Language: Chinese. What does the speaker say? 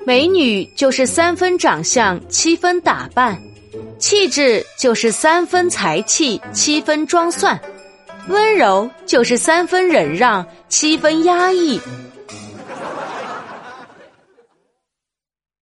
美女就是3分长相7分打扮，气质就是3分才气7分装蒜，温柔就是3分忍让7分压抑。